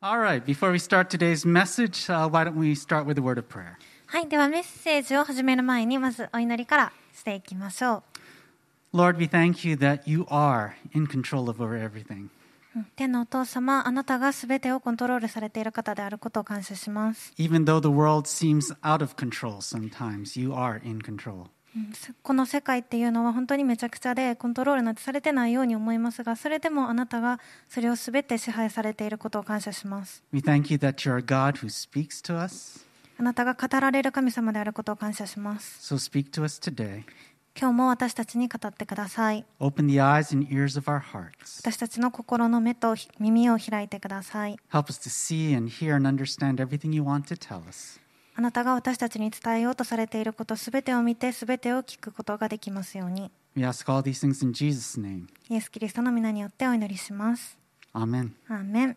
All right, before we start today's message, why don't we start with a word of prayer? はい、ではメッセージを始める前にまずお祈りからしていきましょ Lord, we thank you that you are in control of over everything. う。天のお父様、あなたがすべてをコントロールされている方であることを感謝します。 Even though the world seems out of control sometimes, you are in control. この世界っていうのは本当にめちゃくちゃでコントロールなんてされてないように思いますが、それでもあなたがそれをすべて支配されていることを感謝します。 We thank you that you're a God who speaks to us. あなたが語られる神様であることを感謝します。 So speak to us today. 今日も私たちに語ってください。 Open the eyes and ears of our hearts. 私たちの心の目と耳を開いてください。 Help us to see and hear and understand everything you want to tell us. あなたが私たちに伝えようとされていることすべてを見てすべてを聞くことができますように。 We ask all these things in Jesus' name. イエス・キリストの皆によってお祈りします。 Amen. アーメン。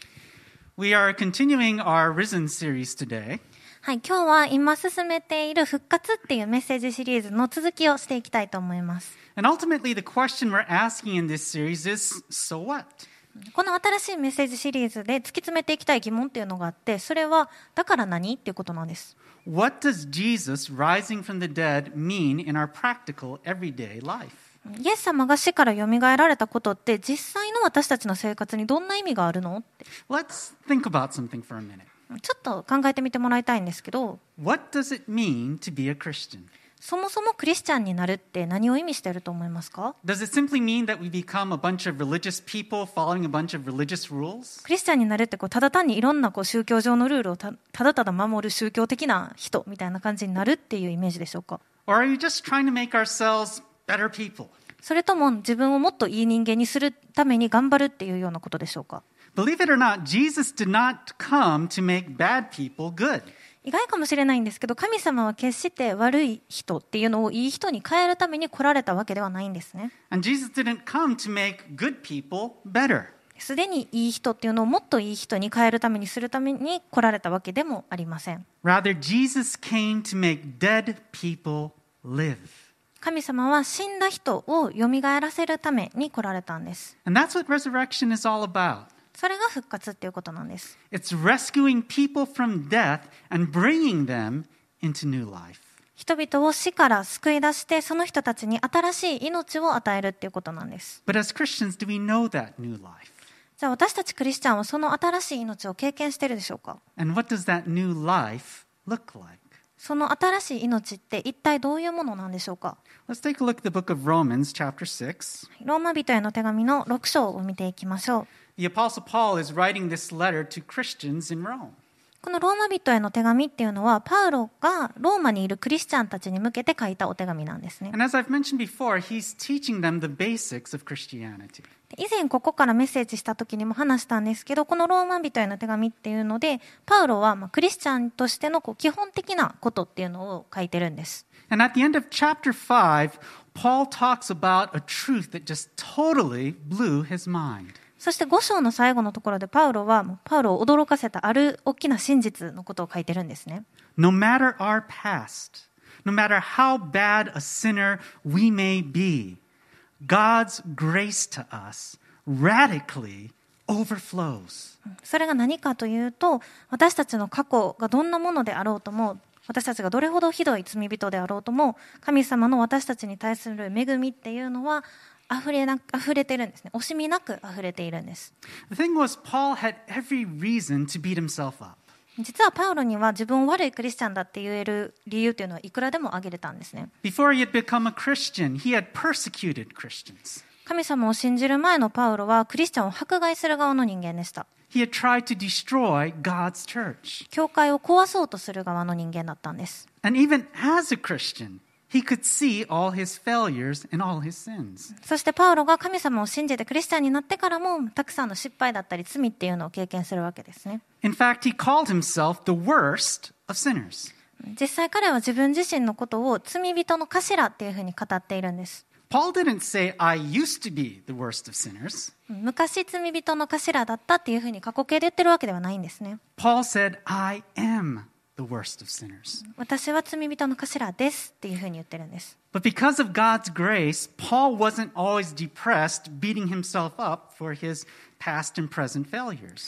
We are continuing our Risen series today. はい、今日は今進めている復活っていうメッセージシリーズの続きをしていきたいと思います。 And ultimately, the question we're asking in this series is, so what? この新しいメッセージシリーズで突き詰めていきたい疑問っていうのがあって、それはだから何っていうことなんです。 What does Jesus rising from the dead mean in our practical, everyday life? イエス様が死からよみがえられたことって実際の私たちの生活にどんな意味があるのって Let's think about something for a minute. ちょっと考えてみてもらいたいんですけど、 What does it mean to be a Christian? そもそもクリスチャンになるって何を意味していると思いますか？ Does it simply mean that we become a bunch of religious people following a bunch of religious rules? クリスチャンになるってただ単にいろんな宗教上のルールをただただ守る宗教的な人みたいな感じになるっていうイメージでしょうか？ Or are we just trying to make ourselves better people? それとも自分をもっといい人間にするために頑張るっていうようなことでしょうか？ Believe it or not, Jesus did not come to make bad people good. 意外かもしれないんですけど、神様は決して悪い人っていうのをいい人に変えるために来られたわけではないんですね。 And Jesus didn't come to make good people better. すでにいい人っていうのをもっといい人に変えるためにするために来られたわけでもありません。 Rather, Jesus came to make dead people live. 神様は死んだ人をよみがえらせるために来られたんです。 And that's what resurrection is all about. それが復活っていうことなんです。 It's rescuing people from death and bringing them into new life. 人々を死から救い出して、その人たちに新しい命を与えるっていうことなんです。 But as Christians, do we know that new life? じゃあ私たちクリスチャンはその新しい命を経験しているでしょうか？ And what does that new life look like? その新しい命って一体どういうものなんでしょうか？ Let's take a look at the book of Romans, chapter 6. ローマ人への手紙の6章を見ていきましょう。 The Apostle Paul is writing this letter to Christians in Rome. このローマ人への手紙っていうのはパウロがローマにいるクリスチャンたちに向けて書いたお手紙なんですね。 And as I've mentioned before, he's teaching them the basics of Christianity. 以前ここからメッセージした時にも話したんですけど、このローマ人への手紙っていうのでパウロはクリスチャンとしての基本的なことっていうのを書いてるんです。 And at the end of chapter 5, Paul talks about a truth that just totally blew his mind. そして5章の最後のところでパウロはパウロを驚かせたある大きな真実のことを書いてるんですね。 No matter our past, no matter how bad a sinner we may be, God's grace to us radically overflows. それが何かというと、私たちの過去がどんなものであろうとも、私たちがどれほどひどい罪人であろうとも、神様の私たちに対する恵みっていうのは溢れているんですね。惜しみなく溢れているんです。 The thing was, Paul had every reason to beat himself up. 実はパウロには自分を悪いクリスチャンだって言える理由というのはいくらでも挙げれたんですね。 Before he had become a Christian, he had persecuted Christians. 神様を信じる前のパウロはクリスチャンを迫害する側の人間でした。 He had tried to destroy God's church. 教会を壊そうとする側の人間だったんです。 And even as a Christian, he could see all his failures and all his sins. そしてパウロが神様を信じてクリスチャンになってからもたくさんの失敗だったり罪っていうのを経験するわけですね。 In fact, he called himself the worst of sinners. 実際彼は自分自身のことを罪人の頭っていうふうに語っているんです。 Paul didn't say, I used to be the worst of sinners. 昔罪人の頭だったっていうふうに過去形で言ってるわけではないんですね。 Paul said, I am the worst of sinners. 私は罪人の頭ですっていうふうに言ってるんです。 But because of God's grace, Paul wasn't always depressed, beating himself up for his past and present failures.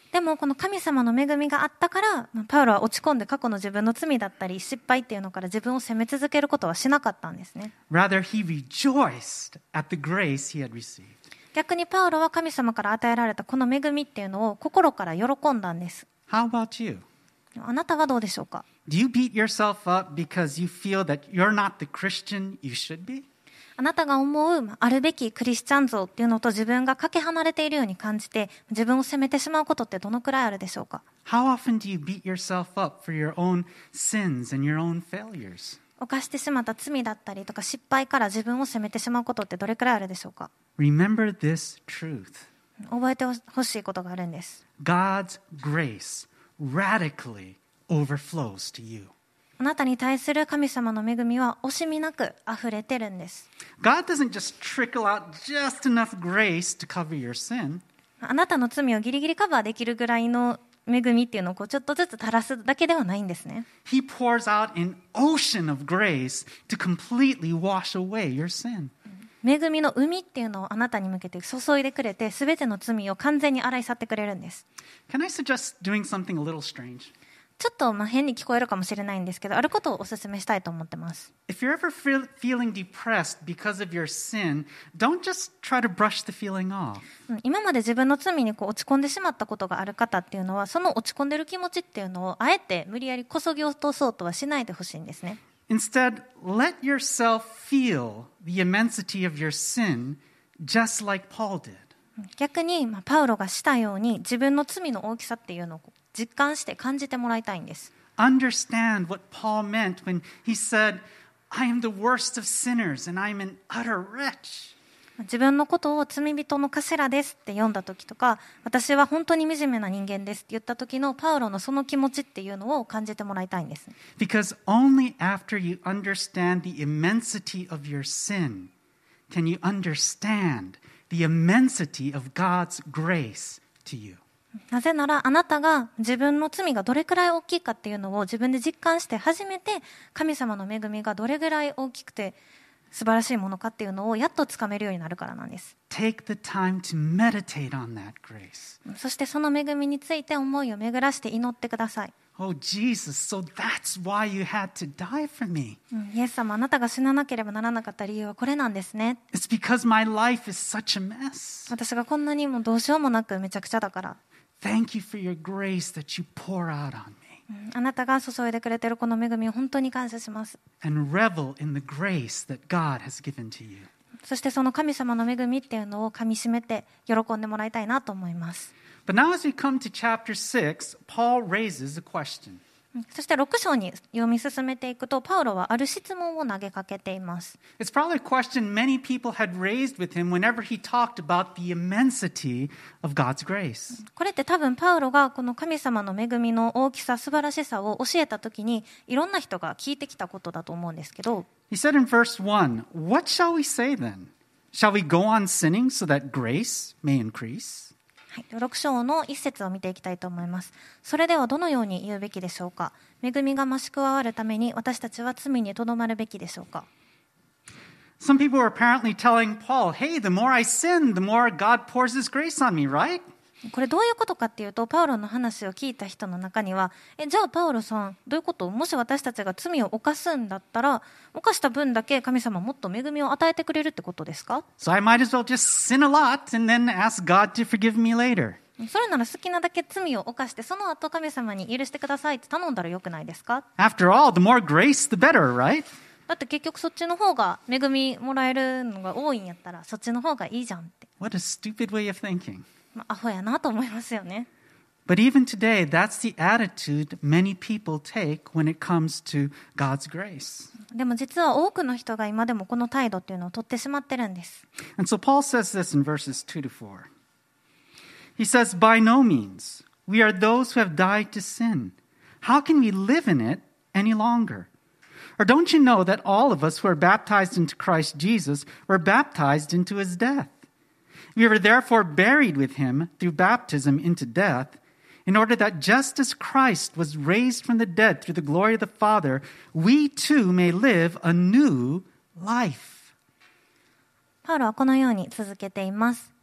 でもこの神様の恵みがあったから、パウロは落ち込んで過去の自分の罪だったり失敗っていうのから自分を責め続けることはしなかったんですね。 Rather, he rejoiced at the grace he had received. 逆にパウロは神様から与えられたこの恵みっていうのを心から喜んだんです。 How about you? あなたはどうでしょうか？ Do you beat yourself up because you feel that you're not the Christian you should be? あなたが思うあるべきクリスチャン像っていうのと自分がかけ離れているように感じて自分を責めてしまうことってどのくらいあるでしょうか？ How often do you beat yourself up for your own sins and your own failures? 犯してしまった罪だったりとか失敗から自分を責めてしまうことってどれくらいあるでしょうか？ Remember this truth. 覚えてほしいことがあるんです。 God's grace radically overflows to you. あなたに対する神様の恵みは惜しみなく溢れてるんです。 God doesn't just trickle out just enough grace to cover your sin. あなたの罪をギリギリカバーできるぐらいの恵みっていうのをちょっとずつ垂らすだけではないんですね。 He pours out an ocean of grace to completely wash away your sin. 恵みの海っていうのをあなたに向けて注いでくれて全ての罪を完全に洗い去ってくれるんです。 Can I suggest doing something a little strange? ちょっと変に聞こえるかもしれないんですけど、あることをお勧めしたいと思ってます。 If you're ever feeling depressed because of your sin, don't just try to brush the feeling off. 今まで自分の罪に落ち込んでしまったことがある方っていうのは、その落ち込んでる気持ちっていうのをあえて無理やりこそぎ落とそうとはしないでほしいんですね。 Instead, let yourself feel the immensity of your sin just like Paul did. 逆に、パウロがしたように自分の罪の大きさっていうのを実感して感じてもらいたいんです。 Understand what Paul meant when he said, I am the worst of sinners and I'm an utter wretch. 自分のことを罪人の頭ですって読んだ時とか、私は本当に惨めな人間ですって言った時のパウロのその気持ちっていうのを感じてもらいたいんです。 Because only after you understand the immensity of your sin can you understand the immensity of God's grace to you. なぜならあなたが自分の罪がどれくらい大きいかっていうのを自分で実感して初めて神様の恵みがどれぐらい大きくて素晴らしいものかっていうのをやっとつかめるようになるからなんです。 Take the time to meditate on that grace. そしてその恵みについて思いを巡らして祈ってください。 Oh, Jesus, so that's why you had to die for me. イエス様、あなたが死ななければならなかった理由はこれなんですね。 It's because my life is such a mess. 私がこんなにもどうしようもなくめちゃくちゃだから。 Thank you for your grace that you pour out on me. あなたが注いでくれているこの恵みを本当に感謝します。 And revel in the grace that God has given to you. そしてその神様の恵みっていうのをかみしめて喜んでもらいたいなと思います。 But now as we come to chapter 6, Paul raises a question. そして6章に読み進めていくと、パウロはある質問を投げかけています。 It's probably a question many people had raised with him whenever he talked about the immensity of God's grace. これって多分パウロがこの神様の恵みの大きさ、素晴らしさを教えたときにいろんな人が聞いてきたことだと思うんですけど、 He said in verse 1, What shall we say then? Shall we go on sinning so that grace may increase? はい、6章の一節を見ていきたいと思います。それではどのように言うべきでしょうか。恵みが増し加わるために私たちは罪にとどまるべきでしょうか。 Some people were apparently telling Paul, hey, the more I sin, the more God pours his grace on me, right? これどういうことかっていうと、パウロの話を聞いた人の中には、じゃあパウロさんどういうこと？もし私たちが罪を犯すんだったら、犯した分だけ神様もっと恵みを与えてくれるってことですか？ So I might as well just sin a lot and then ask God to forgive me later. それなら好きなだけ罪を犯してその後神様に許してくださいって頼んだらよくないですか？ After all, the more grace, the better, right? だって結局そっちの方が恵みもらえるのが多いんやったらそっちの方がいいじゃんって。 What a stupid way of thinking. アホやなと思いますよね。 But even today, that's the attitude many people take when it comes to God's grace. でも実は多くの人が今でもこの態度っていうのを取ってしまってるんです。 And so Paul says this in verses 2 to 4. He says, By no means. We are those who have died to sin. How can we live in it any longer? Or don't you know that all of us who are baptized into Christ Jesus were baptized into his death? We were therefore buried with him through baptism into death, in order that just as Christ was raised from the dead through the glory of the Father, we too may live a new life. パウロはこのように続けています。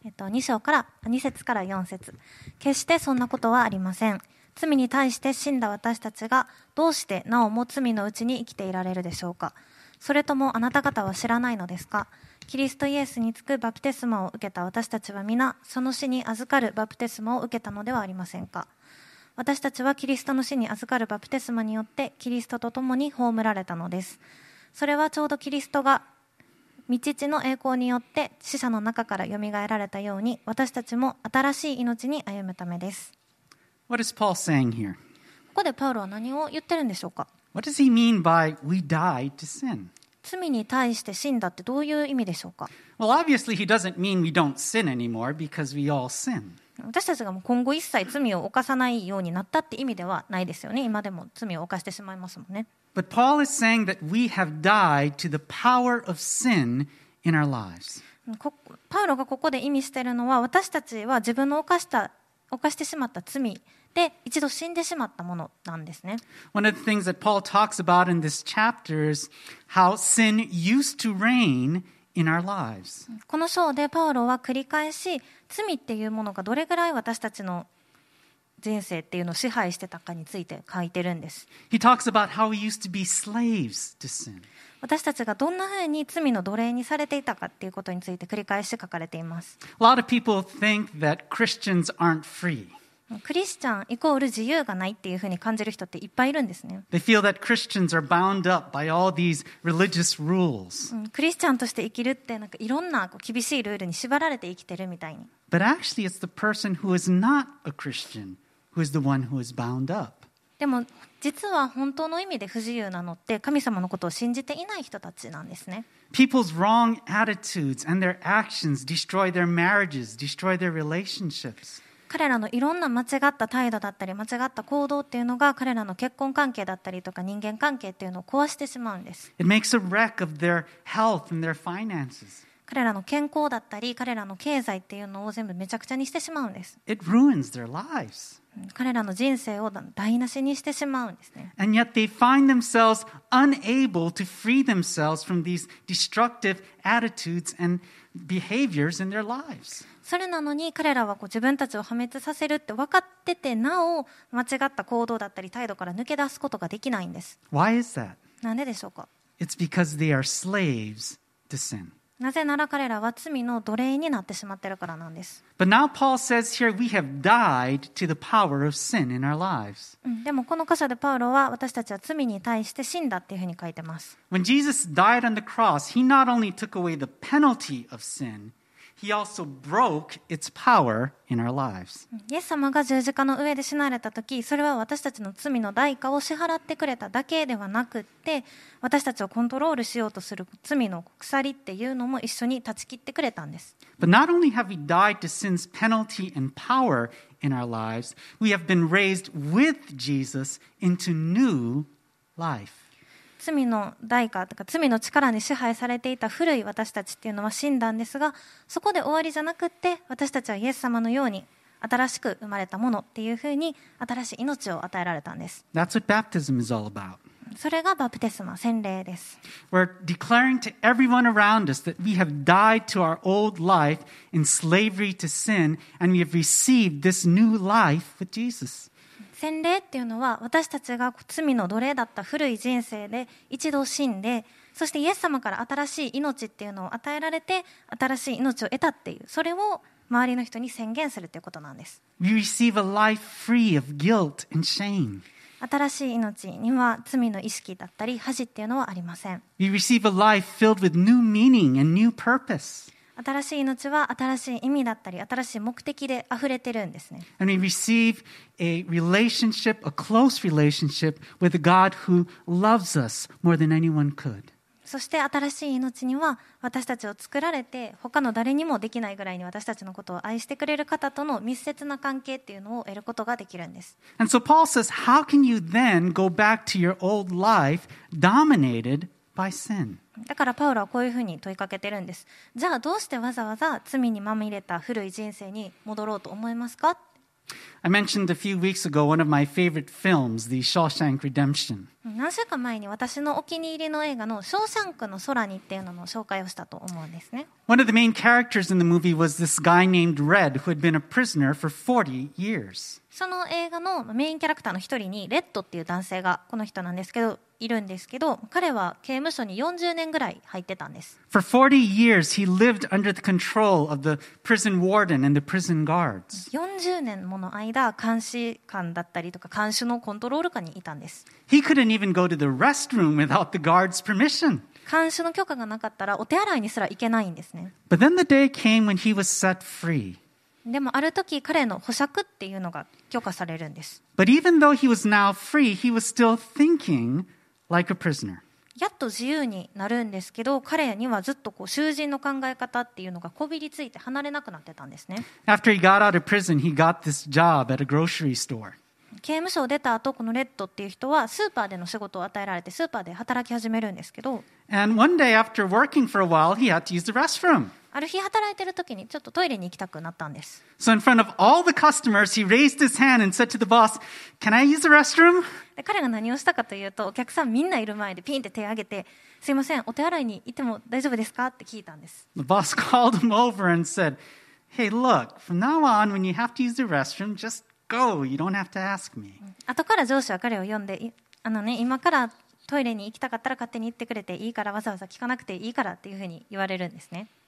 2節から4節。決してそんなことはありません。罪に対して死んだ私たちがどうしてなおも罪のうちに生きていられるでしょうか。それともあなた方は知らないのですか。キリストイエスにつくバプテスマを受けた私たちは皆その死に預かるバプテスマを受けたのではありませんか。私たちはキリストの死に預かるバプテスマによってキリストと共に葬られたのです。それはちょうどキリストが御父の栄光によって死者の中からよみがえられたように、私たちも新しい命に歩むためです。 What is Paul saying here? ここでパウロは何を言ってるんでしょうか。 What does he mean by we died to sin? 罪に対して死んだってどういう意味でしょうか。 Well, obviously he doesn't mean we don't sin anymore because we all sin. 私たちがもう今後一切罪を犯さないようになったって意味ではないですよね。今でも罪を犯してしまいますもんね。 But Paul is saying that we have died to the power of sin in our lives. パウロがここで意味しているのは、私たちは自分の犯してしまった罪で一度死んでしまったものなんですね。 One of the things that Paul talks about in this chapter is how sin used to reign in our lives. この章でパウロは繰り返し罪っていうものがどれぐらい私たちの人生っていうのを支配してたかについて書いてるんです。 He talks about how we used to be slaves to sin. 私たちがどんなふうに罪の奴隷にされていたかっていうことについて繰り返し書かれています。 A lot of people think that Christians aren't free. クリスチャンイコール自由がないっていうふうに感じる人っていっぱいいるんですね。 They feel that Christians are bound up by all these religious rules. クリスチャンとして生きるってなんかいろんな厳しいルールに縛られて生きてるみたいに。 But actually it's the person who is not a Christian who is the one who is bound up. でも実は本当の意味で不自由なのって神様のことを信じていない人たちなんですね。 People's wrong attitudes and their actions destroy their marriages, destroy their relationships. 彼らのいろんな間違った態度だったり間違った行動っていうのが彼らの結婚関係だったりとか人間関係っていうのを壊してしまうんです。 It makes a wreck of their health and their finances. 彼らの健康だったり彼らの経済っていうのを全部めちゃくちゃにしてしまうんです。 It ruins their lives. 彼らの人生を台無しにしてしまうんですね。 And yet they find themselves unable to free themselves from these destructive attitudes and behaviors in their lives. それなのに彼らは自分たちを破滅させるって分かっててなお間違った行動だったり態度から抜け出すことができないんです。 Why is that? なんででしょうか。 It's because they are slaves to sin. なぜなら彼らは罪の奴隷になってしまっているからなんです。 But now Paul says here we have died to the power of sin in our lives. でもこの箇所でパウロは私たちは罪に対して死んだっていうふうに書いてます。 When Jesus died on the cross, he not only took away the penalty of sin, he also broke its power in our lives. イエス様が十字架の上で死なれた時、それは私たちの罪の代価を支払ってくれただけではなくって、私たちをコントロールしようとする罪の鎖っていうのも一緒に断ち切ってくれたんです。 But not only have we died to sin's penalty and power in our lives, we have been raised with Jesus into new life. 罪の代価とか罪の力に支配されていた古い私たちっていうのは死んだんですが、そこで終わりじゃなくって私たちはイエス様のように新しく生まれたものっていうふうに新しい命を与えられたんです。 That's what baptism is all about. それがバプテスマ、洗礼です。 We're declaring to everyone around us that we have died to our old life in slavery to sin, and we have received this new life with Jesus. 洗礼っていうのは私たちが罪の奴隷だった古い人生で一度死んで、そしてイエス様から新しい命っていうのを与えられて新しい命を得たっていう、それを周りの人に宣言するということなんです。 We receive a life free of guilt and shame. 新しい命には罪の意識だったり恥っていうのはありません。 We receive a life filled with new meaning and new purpose. 新しい命は新しい意味だったり新しい目的で溢れてるんですね。 And we receive a relationship, a close relationship with a God who loves us more than anyone could. そして新しい命には私たちを作られて他の誰にもできないぐらいに私たちのことを愛してくれる方との密接な関係っていうのを得ることができるんです。 And so Paul says, how can you then go back to your old life dominated by sin? だからパウロはこういうふうに問いかけてるんです。じゃあどうしてわざわざ罪にまみれた古い人生に戻ろうと思いますか。 I mentioned a few weeks ago one of my favorite films, The Shawshank Redemption. 何週間前に私のお気に入りの映画のショーシャンクの空にっていうのの紹介をしたと思うんですね。 One of the main characters in the movie was this guy named Red who had been a prisoner for 40 years. その映画のメインキャラクターの一人にレッドっていう男性がこの人なんですけどいるんですけど、彼は刑務所に40年ぐらい入ってたんです。 For 40 years, he lived under the control of the prison warden and the prison guards. 40年もの間監視官だったりとか看守のコントロール下にいたんです。 He couldn't even go to the restroom without the guard's permission. 看守の許可がなかったらお手洗いにすら行けないんですね。 But then the day came when he was set free. でもある時彼の保釈っていうのが許可されるんです。 But even though he was now free, he was still thinking like a prisoner. やっと自由になるんですけど、彼にはずっと囚人の考え方っていうのがこびりついて離れなくなってたんですね。 After he got out of prison, he got this job at a grocery store. 刑務所を出た後、このレッドっていう人はスーパーでの仕事を与えられてスーパーで働き始めるんですけど、 And one day after working for a while, he had to use the restroom. ある日働いてる時にちょっとトイレに行きたくなったんです。 So in front of all the customers, he raised his hand and said to the boss, "Can I use the restroom?" で彼が何をしたかというと、お客さんみんないる前でピンって手を挙げて、すいませんお手洗いに行っても大丈夫ですかって聞いたんです。 The boss called him over and said, "Hey, look, from now on, when you have to use the restroom, just go. You don't have to ask me." 後から上司は彼を呼んで、今からトイレに行きたかったら勝手に行ってくれていいから、わざわざ聞かなくていいからっていうふうに言われるんですね。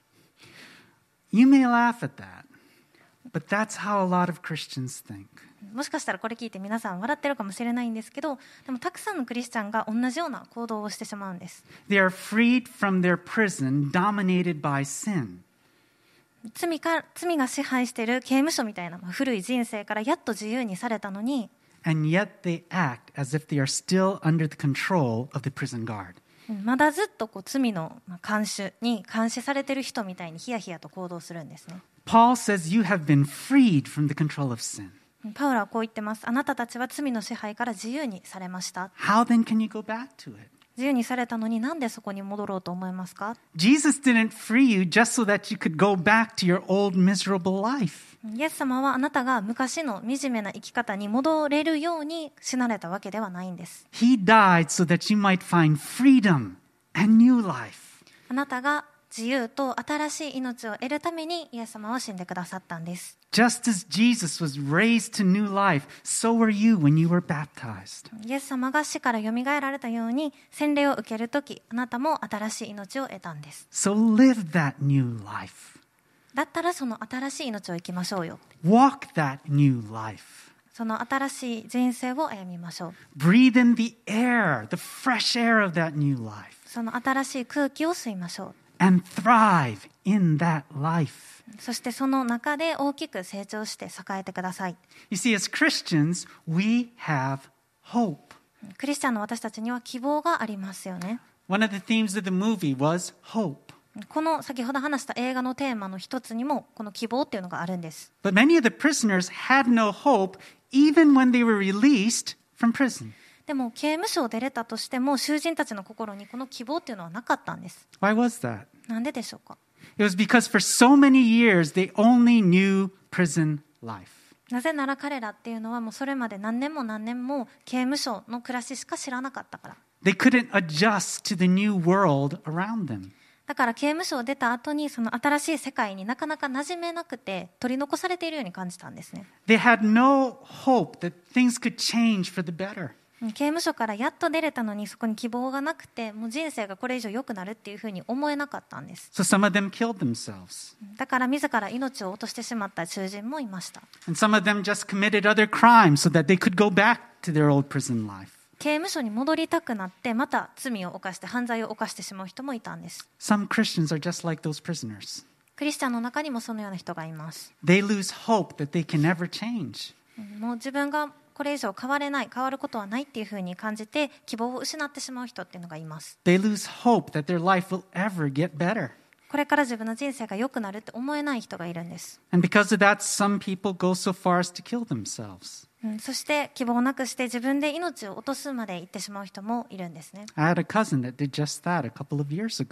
You may laugh at that, but that's how a lot of Christians think. もしかしたらこれ聞いて皆さん笑ってるかもしれないんですけど、でもたくさんのクリスチャンが同じような行動をしてしまうんです。 They are freed from their prison dominated by sin. 罪が支配している刑務所みたいな古い人生からやっと自由にされたのに、 And yet they act as if they are still under the control of the prison guard. まだずっと罪の監視に監視されている人みたいにヒヤヒヤと行動するんですね。 Paul says you have been freed from the control of sin. パウロはこう言ってます。あなたたちは罪の支配から自由にされました。 How then can you go back to it? 自由にされたのになんでそこに戻ろうと思いますか？ Jesus didn't free you just so that you could go back to your old miserable life. イエス様はあなたが昔の惨めな生き方に戻れるように死なれたわけではないんです。 He died so that you might find freedom and new life. あなたが自由と新しい命を得るためにイエス様は死んでくださったんです。 Just as Jesus was raised to new life, so were you when you were baptized. イエス様が死からよみがえられたように洗礼を受けるとき、あなたも新しい命を得たんです。 So live that new life. だったらその新しい命を生きましょうよ。 Walk that new life. その新しい人生を歩みましょう。 Breathe in the air, the fresh air of that new life. その新しい空気を吸いましょう。 And thrive in that life. そしてその中で大きく成長して栄えてください。 You see, as Christians, we have hope. クリスチャンの私たちには希望がありますよね。 One of the themes of the movie was hope. この先ほど話した映画のテーマの一つにもこの希望っていうのがあるんです。 But many of the prisoners had no hope even when they were released from prison. でも刑務所を出れたとしても囚人たちの心にこの希望っていうのはなかったんです。 Why was that? なんででしょうか？ It was because for so many years they only knew prison life. なぜなら彼らっていうのはもうそれまで何年も何年も刑務所の暮らししか知らなかったから。 They couldn't adjust to the new world around them. だから刑務所を出た後にその新しい世界になかなか馴染めなくて取り残されているように感じたんですね。 They had no hope that things could change for the better. 刑務所からやっと出れたのにそこに希望がなくて、もう人生がこれ以上良くなるっていうふうに思えなかったんです。 So some of them killed themselves. だから自ら命を落としてしまった囚人もいました。 And some of them just committed other crimes so that they could go back to their old prison life. 刑務所に戻りたくなってまた罪を犯して犯罪を犯してしまう人もいたんです。 Some Christians are just like those prisoners. クリスチャンの中にもそのような人がいます。 They lose hope that they can never change. もう自分がこれ以上変われない、変わることはないっていうふうに感じて希望を失ってしまう人っていうのがいます。 They lose hope that their life will ever get better. これから自分の人生が良くなるって思えない人がいるんです。 And because of that, some people go so far as to kill themselves. そして希望をなくして自分で命を落とすまで行ってしまう人もいるんですね。 I had a cousin that did just that a couple of years ago.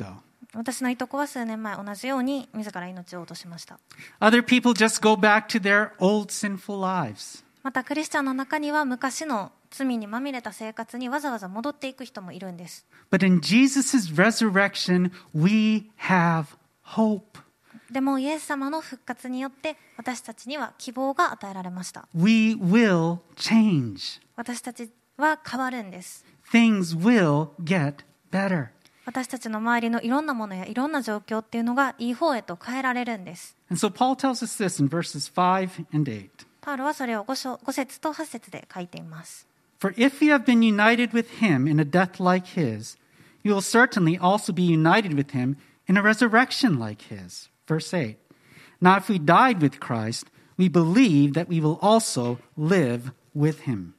私のいとこは数年前同じように自ら命を落としました。 Other people just go back to their old sinful lives. またクリスチャンの中には昔の罪にまみれた生活にわざわざ戻っていく人もいるんです。 But in Jesus' resurrection, we have hope. でもイエス様の復活によって私たちには希望が与えられました。 We will change. 私たちは変わるんです。 Things will get better. 私たちの周りのいろんなものやいろんな状況っていうのがいい方へと変えられるんです。 And so Paul tells us this in verses 5 and 8. パウロはそれを5節と8節で書いています。 For if you have been united with him in a death like his, you will certainly also be united with him in a resurrection like his. Verse 8. Now if we died with Christ, we believe that we will also live with him.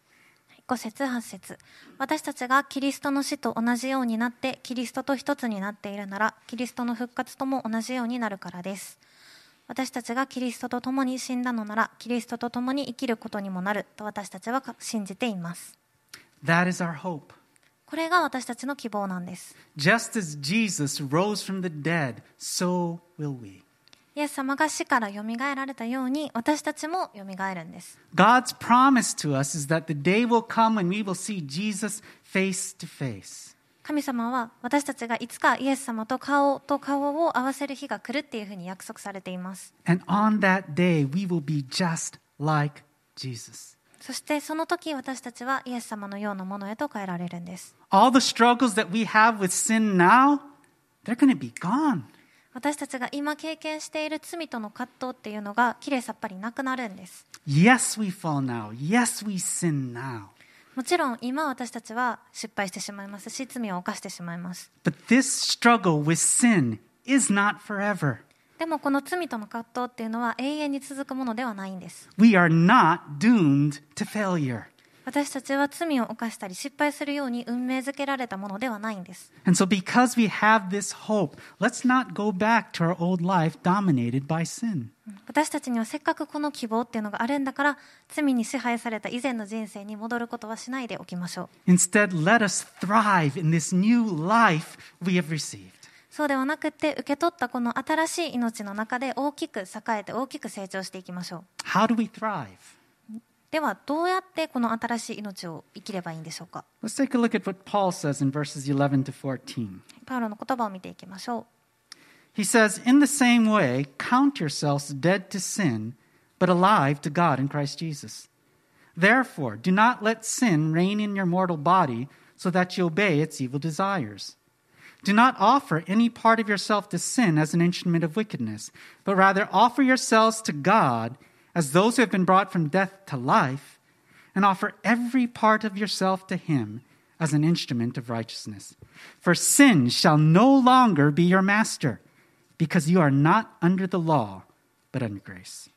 5節8節私たちがキリストの死と同じようになってキリストと一つになっているならキリストの復活とも同じようになるからです。私たちがキリストと共に死んだのならキリストと共に生きることにもなると私たちは信じています。 That is our hope. これが私たちの希望なんです。 Just as Jesus rose from the dead, so will we. イエス様が死からよみがえられたように私たちもよみがえるんです。 God's promise to us is that the day will come when we will see Jesus face to face. 神様は私たちがいつかイエス様と顔と顔を合わせる日が来るっていうふうに約束されています。 And on that day, we will be just like Jesus. そしてその時私たちはイエス様のようなものへと変えられるんです。 All the struggles that we have with sin now, they're going to be gone. 私たちが今経験している罪との葛藤っていうのがきれいさっぱりなくなるんです。 Yes, we fall now. Yes, we sin now. もちろん今私たちは失敗してしまいますし罪を犯してしまいます。 But this struggle with sin is not forever. でもこの罪との葛藤っていうのは永遠に続くものではないんです。 We are not doomed to failure. 私たちは罪を犯したり失敗するように運命づけられたものではないんです。 And so because we have this hope, let's not go back to our old life dominated by sin. 私たちにはせっかくこの希望っていうのがあるんだから罪に支配された以前の人生に戻ることはしないでおきましょう。 Instead, let us thrive in this new life we have received. そうではなくて受け取ったこの新しい命の中で大きく栄えて大きく成長していきましょう。 How do we thrive? ではどうやってこの新しい命を生きればいいんでしょうか。 Let's take a look at what Paul says in verses 11 to 14. パウロの言葉を見ていきましょう。 He says, In the same way, count yourselves dead to sin, but alive to God in Christ Jesus. Therefore, do not let sin reign in your mortal body so that you obey its evil desires. Do not offer any part of yourself to sin as an instrument of wickedness, but rather offer yourselves to God as those who have been brought from death to life, and offer every part of yourself to Him as an instrument of righteousness. For sin shall no longer be your master, because you are not under the law, but under grace.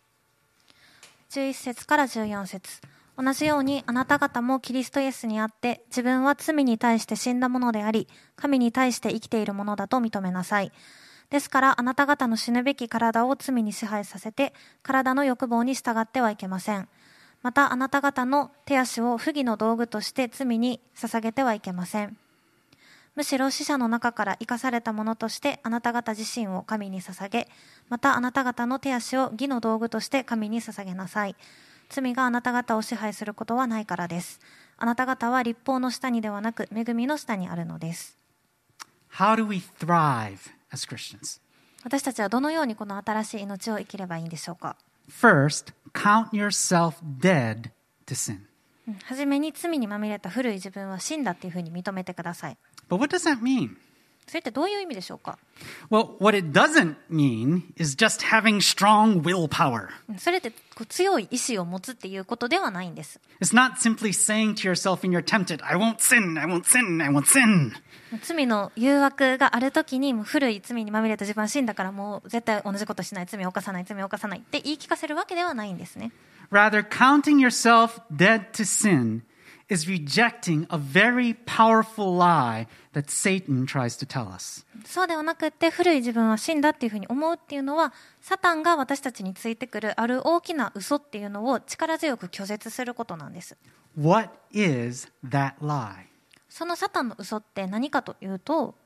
11節から14節同じようにあなた方もキリストイエスにあって自分は罪に対して死んだものであり神に対して生きているものだと認めなさい。ですからあなた方の死ぬべき体を罪に支配させて体の欲望に従ってはいけません。またあなた方の手足を不義の道具として罪に捧げてはいけません。むしろ死者の中から生かされたものとしてあなた方自身を神に捧げ、またあなた方の手足を義の道具として神に捧げなさい。罪があなた方を支配することはないからです。あなた方は律法の下にではなく恵みの下にあるのです。 How do we thrive as Christians? 私たちはどのようにこの新しい命を生きればいいんでしょうか。 First, count yourself dead to sin. はじめに罪にまみれた古い自分は死んだっていうふうに認めてください。 But what does that mean? それってどういう意味でしょうか。 Well, what it doesn't mean is just having strong willpower. それって強い意志を持つっていうことではないんです。 It's not simply saying to yourself when you're tempted, I won't sin, I won't sin, I won't sin. 罪の誘惑があるときにもう古い罪にまみれた自分は死んだからもう絶対同じことしない、罪を犯さない、罪を犯さないって言い聞かせるわけではないんですね。 Rather, counting yourself dead to sin is rejecting a very powerful lie that Satan tries to tell us. そうではなくって古い自分は死んだっていうふうに思うっていうのはサタンが私たちについてくるある大きな嘘っていうのを力強く拒絶することなんです。 What is that lie? そのサタンの嘘って何かというと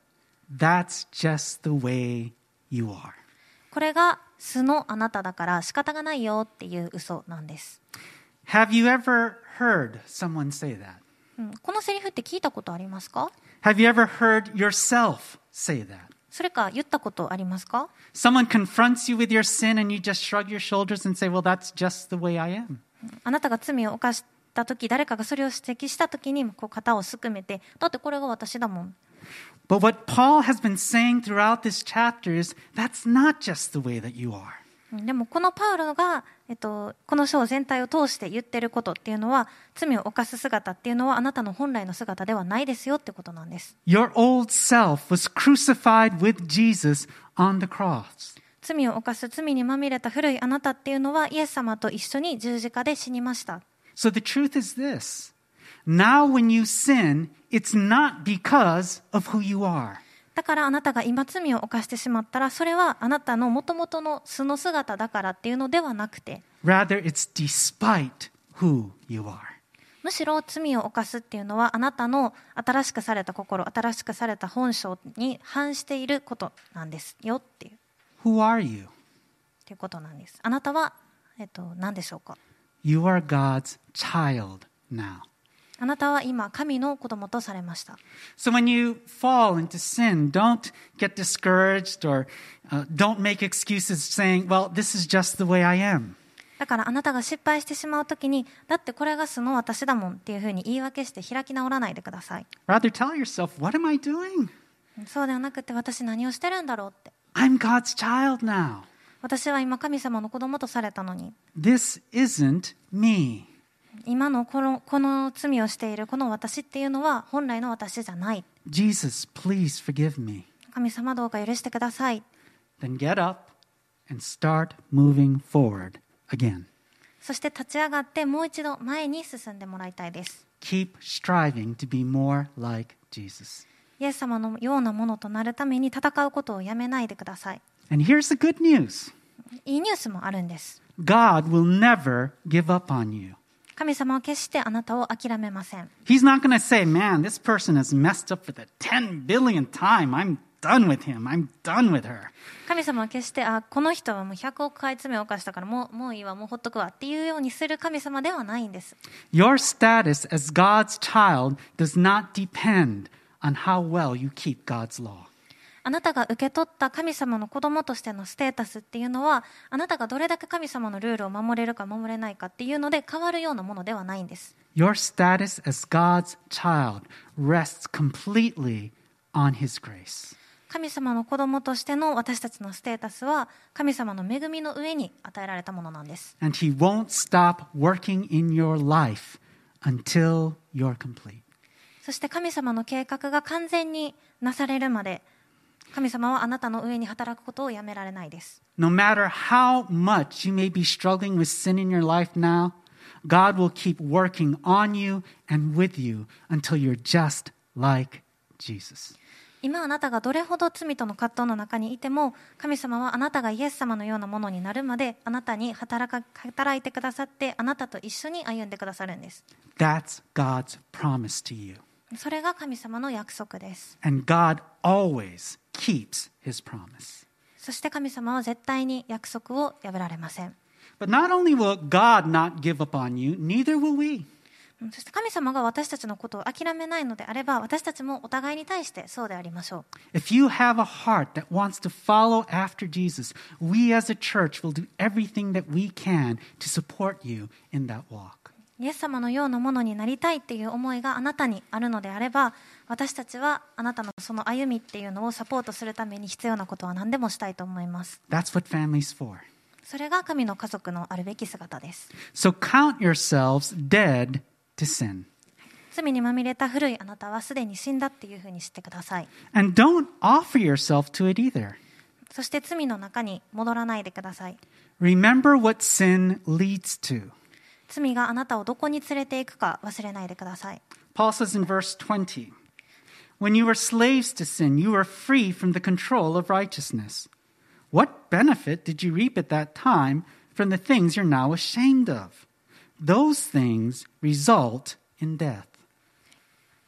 That's just the way you are. これが素のあなただから仕方がないよっていう嘘なんです。 Have you ever heard someone say that? このセリフって聞いたことありますか？ Have you ever heard yourself say that? それか言ったことありますか？ Someone confronts you with your sin and you just shrug your shoulders and say, well, that's just the way I am. あなたが罪を犯した時、誰かがそれを指摘した時にこう肩をすくめて、だってこれが私だもん。 But what Paul has been saying throughout this chapter is that's not just the way that you are. でもこのパウロが、この章全体を通して言ってることっていうのは、罪を犯す姿っていうのはあなたの本来の姿ではないですよってことなんです。 Your old self was crucified with Jesus on the cross. 罪を犯す罪にまみれた古いあなたっていうのはイエス様と一緒に十字架で死にました。 So the truth is this. Now when you sin, it's not because of who you are. だからあなたが今罪を犯してしまったら、それはあなたの元々の素の姿だからっていうのではなくて、 Rather, it's despite who you are. むしろ罪を犯すっていうのはあなたの新しくされた心、新しくされた本性に反していることなんですよっていう。 Who are you? っていうことなんです。あなたは、何でしょうか？ You are God's child now. あなたは今神の子供とされました。 So when you fall into sin, don't get discouraged or don't make excuses saying, well, this is just the way I am. だからあなたが失敗してしまうときに、だってこれが素の私だもんっていうふうに言い訳して開き直らないでください。 Rather tell yourself, what am I doing? そうではなくて、私何をしてるんだろうって。 I'm God's child now. 私は今神様の子供とされたのに。 This isn't me. 今のこの罪をしているこの私っていうのは本来の私じゃない。 Jesus, please forgive me. 神様どうか許してください。 Then get up and start moving forward again. そして立ち上がってもう一度前に進んでもらいたいです。 Keep striving to be more like Jesus. イエス様のようなものとなるために戦うことをやめないでください。 And here's the good news. いいニュースもあるんです。 God will never give up on you. 神様は決してあなたを諦めません。 He's not going to say, man, this person has messed up for the 10 billionth time. I'm done with him. I'm done with her. 神様は決して、この人はもう100億回罪を犯したからもういいわ、もうほっとくわっていうようにする神様ではないんです。 Your status as God's child does not depend on how well you keep God's law. あなたが受け取った神様の子供としてのステータスっていうのは、あなたがどれだけ神様のルールを守れるか守れないかっていうので変わるようなものではないんです。 Your status as God's child rests completely on His grace. 神様の子供としての私たちのステータスは神様の恵みの上に与えられたものなんです。 And He won't stop working in your life until you're complete. そして神様の計画が完全になされるまで、神様はあなたの上に働くことをやめられないです。 No matter how much you may be struggling with sin in your life now, God will keep working on you and with you until you're just like Jesus. 今あなたがどれほど罪との葛藤の中にいても、神様はあなたがイエス様のようなものになるまであなたに働いてくださって、あなたと一緒に歩んでくださるんです。 That's God's promise to you. それが神様の約束です。 And God always keeps His promise. そして神様は絶対に約束を破られません。 But not only will God not give up on you, neither will we. そして神様が私たちのことを諦めないのであれば、私たちもお互いに対してそうでありましょう。 If you have a heart that wants to follow after Jesus, we as a church will do everything that we can to support you in that walk. イエス様のようなものになりたいっていう思いがあなたにあるのであれば、私たちはあなたのその歩みっていうのをサポートするために必要なことは何でもしたいと思います。 That's what family's for. それが神の家族のあるべき姿です。 So count yourselves dead to sin. 罪にまみれた古いあなたはすでに死んだっていうふうに知ってください。 And don't offer yourself to it either. そして罪の中に戻らないでください。 Remember what sin leads to. 罪があなたをどこに連れていくか忘れないでください。 Paul says in verse 20, When you were slaves to sin, you were free from the control of righteousness. What benefit did you reap at that time from the things you're now ashamed of? Those things result in death.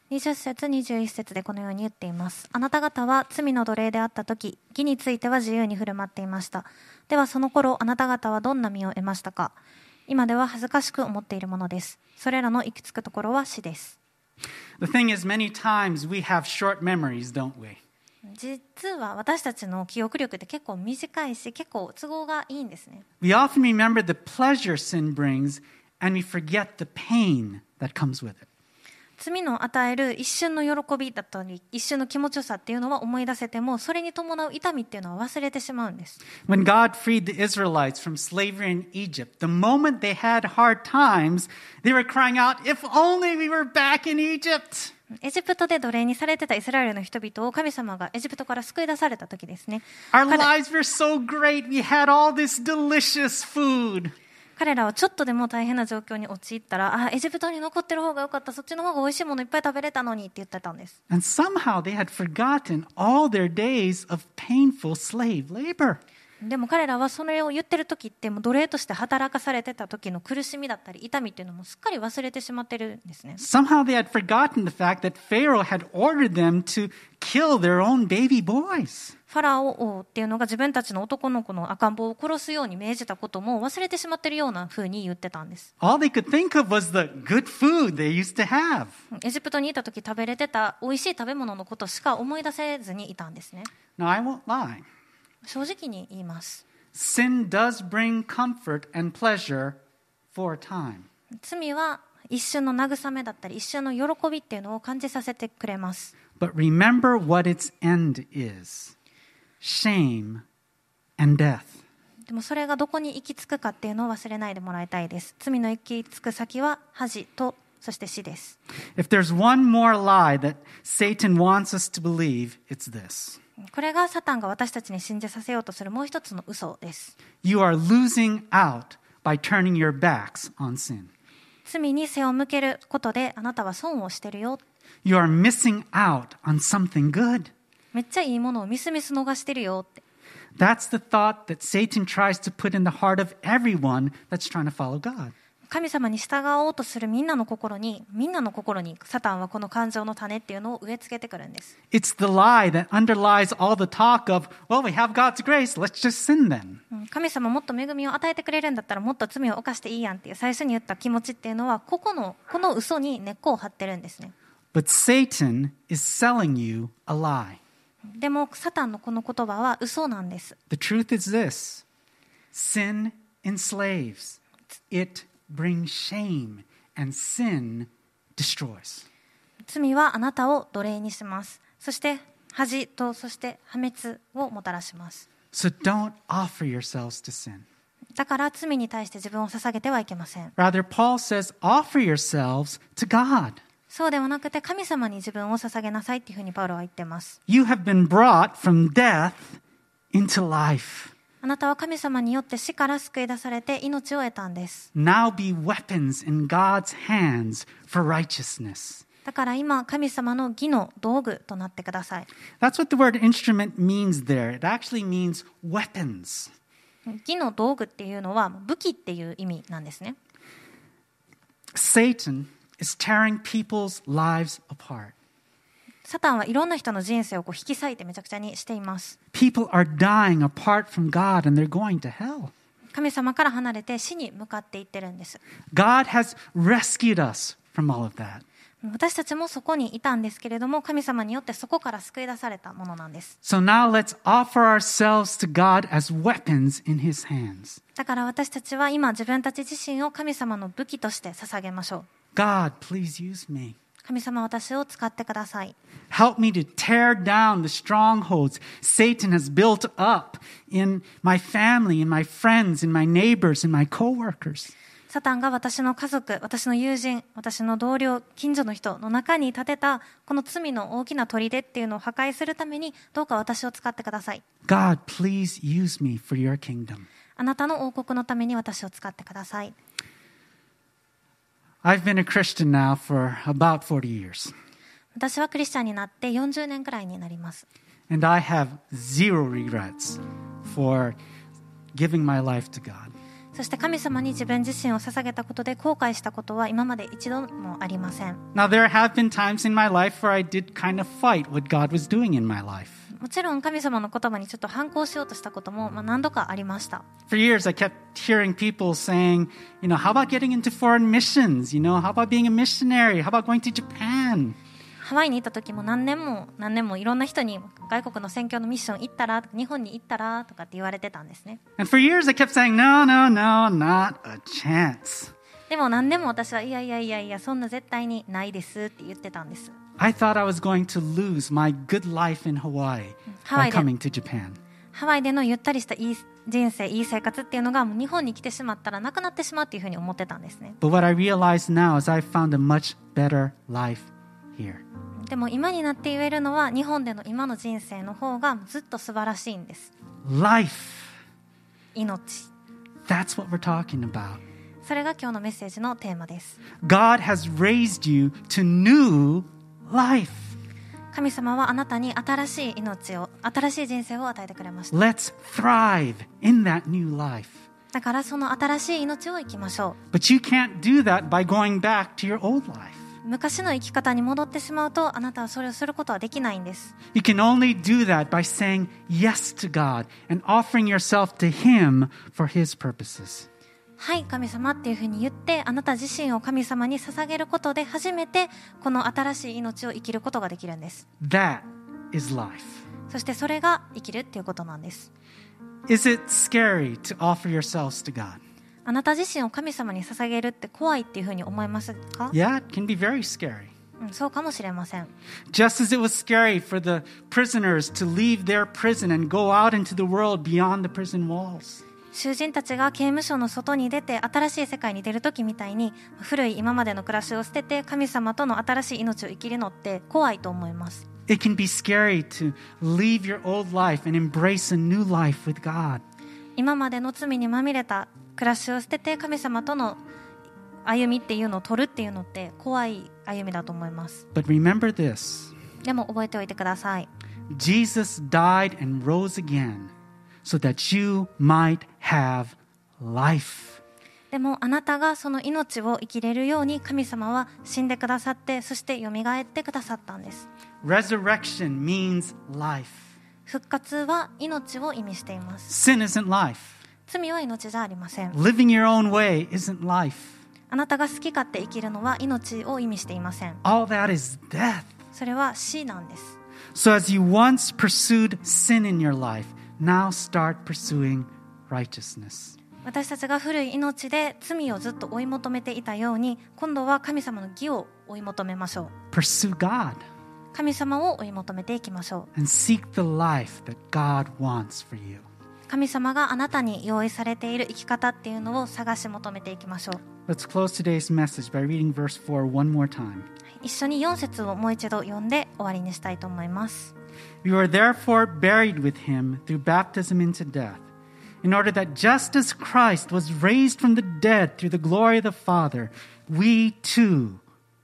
20節21節でこのように言っています。あなた方は罪の奴隷であったとき、義については自由に振る舞っていました。ではその頃あなた方はどんな身を得ましたか。今では恥ずかしく思っているものです。それらの行き着くところは死です。 The thing is, many times we have short memories, don't we? 実は私たちの記憶力って結構短いし、結構都合がいいんですね。 We often remember the pleasure sin brings, and we forget the pain that comes with it. 罪の与える一瞬の喜びだったり、一瞬の気持ちよさっていうのは思い出せても、それに伴う痛みっていうのは忘れてしまうんです。 When God freed the Israelites from slavery in Egypt, the moment they had hard times, they were crying out, "If only we were back in Egypt!" エジプトで奴隷にされてたイスラエルの人々を神様がエジプトから救い出された時ですね。 Our lives were so great. We had all this delicious food. 彼らはちょっとでも大変な状況に陥ったら、エジプトに残ってる方が良かった、そっちの方が美味しいものいっぱい食べれたのにって言ってたんです。 And somehow they had forgotten all their days of painful slave labor. でも彼らはそれを言ってる時ってもう奴隷として働かされてた時の苦しみだったり痛みっていうのもすっかり忘れてしまってるんですね。 Somehow they had forgotten the fact that Pharaoh had ordered them to kill their own baby boys. ファラオ王っていうのが自分たちの男の子の赤ん坊を殺すように命じたことも忘れてしまってるような風に言ってたんです。 All they could think of was the good food they used to have. エジプトにいた時食べれてた美味しい食べ物のことしか思い出せずにいたんですね。 Now, I won't lie. 正直に言います。 Sin does bring comfort and pleasure for a time. 罪は一瞬の慰めだったり一瞬の喜びっていうのを感じさせてくれます。 But remember what its end is. Shame and death. でもそれがどこに行き着くかっていうのを忘れないでもらいたいです。罪の行き着く先は恥とそして死です。 If there's one more lie that Satan wants us to believe, it's this. これがサタンが私たちに信じさせようとするもう一つの嘘です。 You are losing out by turning your backs on sin. 罪に背を向けることであなたは損をしてるよ。 You are missing out on something good. めっちゃいいものをミスミス逃してるよって。 That's the thought that Satan tries to put in the heart of everyone that's trying to follow God. 神様に従おうとするみんなの心にサタンはこの感情の種っていうのを植え付けてくるんです。 It's the lie that underlies all the talk of, well, we have God's grace, let's just sin then. 神様もっと恵みを与えてくれるんだったらもっと罪を犯していいやんっていう最初に言った気持ちっていうのはこの嘘に根っこを張ってるんですね。 But Satan is selling you a lie. でもサタンのこの言葉は嘘なんです。 The truth is this. Sin enslaves. It brings shame, and sin destroys. 罪はあなたを奴隷にします。そして恥とそして破滅をもたらします。 So don't offer yourselves to sin. だから罪に対して自分を捧げてはいけません。 Rather, Paul says, offer yourselves to God. そうではなくて神様に自分を捧げなさいっていうふうにパウロは言っています。 You have been brought from death into life. あなたは神様によって死から救い出されて命を得たんです。 Now be weapons in God's hands for righteousness. だから今神様の義の道具となってください。 That's what the word instrument means there. It actually means weapons. 義の道具っていうのは武器っていう意味なんですね。 Satan is tearing people's lives apart. サタンはいろんな人の人生を引き裂いてめちゃくちゃにしています。 People are dying apart from God and they're going to hell. 神様から離れて死に向かっていってるんです。 God has rescued us from all of that. 私たちもそこにいたんですけれども、神様によってそこから救い出されたものなんです。 So now let's offer ourselves to God as weapons in His hands. だから私たちは今自分たち自身を神様の武器として捧げましょう。 God, please use me. 神様、私を使ってください。 Help me to tear down the strongholds Satan has built up in my family, in my friends, in my neighbors, in my coworkers. サタンが私の家族、私の友人、私の同僚、近所の人の中に立てたこの罪の大きな砦っていうのを破壊するためにどうか私を使ってください。 God, please use me for your kingdom. あなたの王国のために私を使ってください。 I've been a Christian now for about 40 years. 私はクリスチャンになって40年くらいになります。 And I have zero regrets for giving my life to God. そして神様に自分自身を捧げたことで後悔したことは今まで一度もありません。 Now, there have been times in my life where I did kind of fight what God was doing in my life. もちろん神様の言葉にちょっと反抗しようとしたことも何度かありました。 For years, I kept hearing people saying, how about getting into foreign missions? How about being a missionary? How about going to Japan? ハワイに行った時も何年もいろんな人に外国の宣教のミッション行ったら、日本に行ったらとかって言われてたんですね。 And for years, I kept saying, no, not a chance. でも何でも私はいやそんな絶対にないですって言ってたんです。 I thought I was going to lose my good life in Hawaii by coming to Japan. ハワイでのゆったりしたいい人生、いい生活っていうのがもう日本に来てしまったらなくなってしまうっていうふうに思ってたんですね。 But what I realize now is I found a much better life here. でも今になって言えるのは日本での今の人生の方がずっと素晴らしいんです。 Life. 命。 That's what we're talking about. それが今日のメッセージのテーマです。 God has raised you to new life. 神様はあなたに新しい命を、新しい人生を与えてくれました。 Let's thrive in that new life. だからその新しい命を生きましょ But you can't do that by going back to your old life. う。昔の生き方に戻ってしまうとあなたはそれをすることはできないんです。 You can only do that by saying yes to God and offering yourself to Him for His purposes. はい神様っていうふうに言ってあなた自身を神様に捧げることで初めてこの新しい命を生きることができるんです。 That is life. そしてそれが生きるっていうことなんです。 Is it scary to offer yourselves to God? あなた自身を神様に捧げるって怖いっていうふうに思いますか？ Yeah, it can be very scary. そうかもしれません。 Just as it was scary for the prisoners to leave their prison and go out into the world beyond the prison walls. 囚人たちが刑務所の外に出て新しい世界に出るときみたいに古い今までの暮らしを捨てて神様との新しい命を生きるのって怖いと思います。 It can be scary to leave your old life and embrace a new life with God. 今までの罪にまみれた暮らしを捨てて神様との歩みっていうのを取るっていうのって怖い歩みだと思います。 But remember this. でも覚えておいてください。 Jesus died and rose again so that you might have life. でもあなたがその命を生きれるように神様は死んでくださってそしてよみがえってくださったんです。 Resurrection means life. 復活は命を意味しています。 Sin isn't life. 罪は命じゃありません。 Living your own way isn't life. あなたが好き勝手生きるのは命を意味していません。 All that is death. それは死なんです。 So as you once pursued sin in your life, now start pursuing righteousness. 私たちが古い命で罪をずっと追い求めていたように今度は神様の義を追い求めましょう。 Pursue God 神様を追い求めていきましょう。 and seek the life that God wants for you. 神様があなたに用意されている生き方っていうのを探し求めていきましょう。 Let's close today's message by reading verse 4 one more time. 一緒に4節をもう一度読んで終わりにしたいと思います。 You are therefore buried with him through baptism into death, in order that just as Christ was raised from the dead through the glory of the Father, we too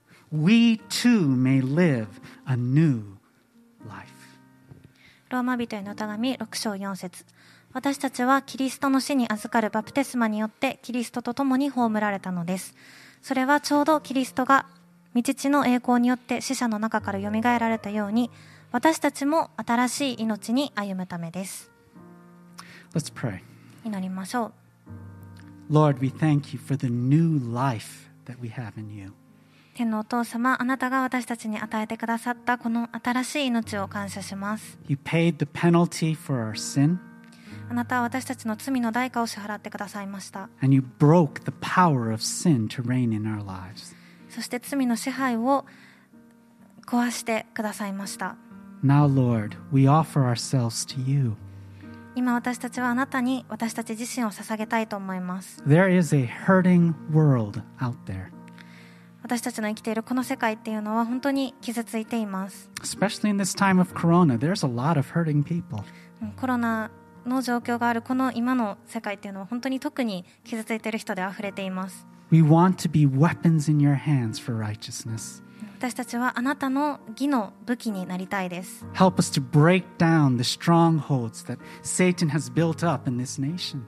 may live a new life. ローマ人への手紙6章4節。私たちはキリストの死に預かるバプテスマによってキリストと共に葬られたのです。それはちょうどキリストが御父の栄光によって死者の中からよみがえられたように、私たちも新しい命に歩むためです。 Let's pray. 祈りましょう。 Lord, we thank you for the new life that we have in you. 天のお父様、あなたが私たちに与えてくださったこの新しい命を感謝します。 You paid the penalty for our sin, あなたは私たちの罪の代価を支払ってくださいました。 and you broke the power of sin to reign in our lives. そして罪の支配を壊してくださいました。 Now, Lord, we offer ourselves to you. 今私たちはあなたに私たち自身を捧げたいと思います。 There is a hurting world out there, 私たちの生きているこの世界っていうのは本当に傷ついています。 especially in this time of Corona. There's a lot of hurting people. コロナの状況があるこの今の世界っていうのは本当に特に傷ついている人であふれています。 We want to be weapons in your hands for righteousness. 私たちはあなたの義の武器になりたいです。 Help us to break down the strongholds that Satan has built up in this nation.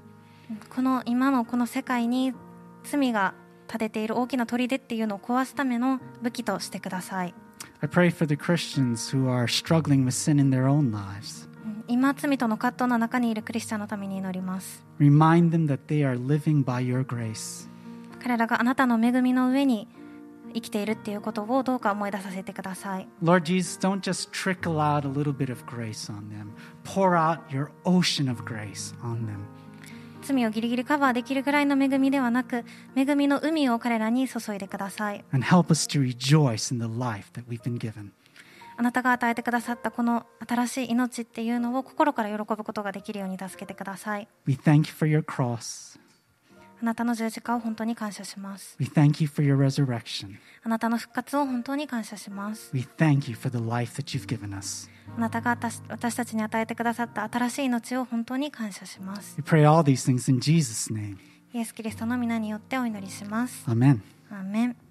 この今のこの世界に罪が立てている大きな砦っていうのを壊すための武器としてください。 I pray for the Christians who are struggling with sin in their own lives. 今罪との葛藤の中にいるクリスチャンのために祈ります。 Remind them that they are living by your grace. 彼らがあなたの恵みの上に生きているっていうことをどうか思い出させてください。 Lord Jesus, don't just trickle out a little bit of grace on them. Pour out your ocean of grace on them. 罪をギリギリカバーできるぐらいの恵みではなく、恵みの海を彼らに注いでください。 And help us to rejoice in the life that we've been given. あなたが与えてくださったこの新しい命っていうのを心から喜ぶことができるように助けてください。 We thank you for your cross. あなたの十字架を本当に感謝します。 We thank you for your resurrection. あなたの復活を本当に感謝します。 We thank you for the life that you've given us. あなたが私たちに与えてくださった新しい命を本当に感謝します。 We pray all these things in Jesus' name. イエス・キリストの皆によってお祈りします。 Amen. アーメン。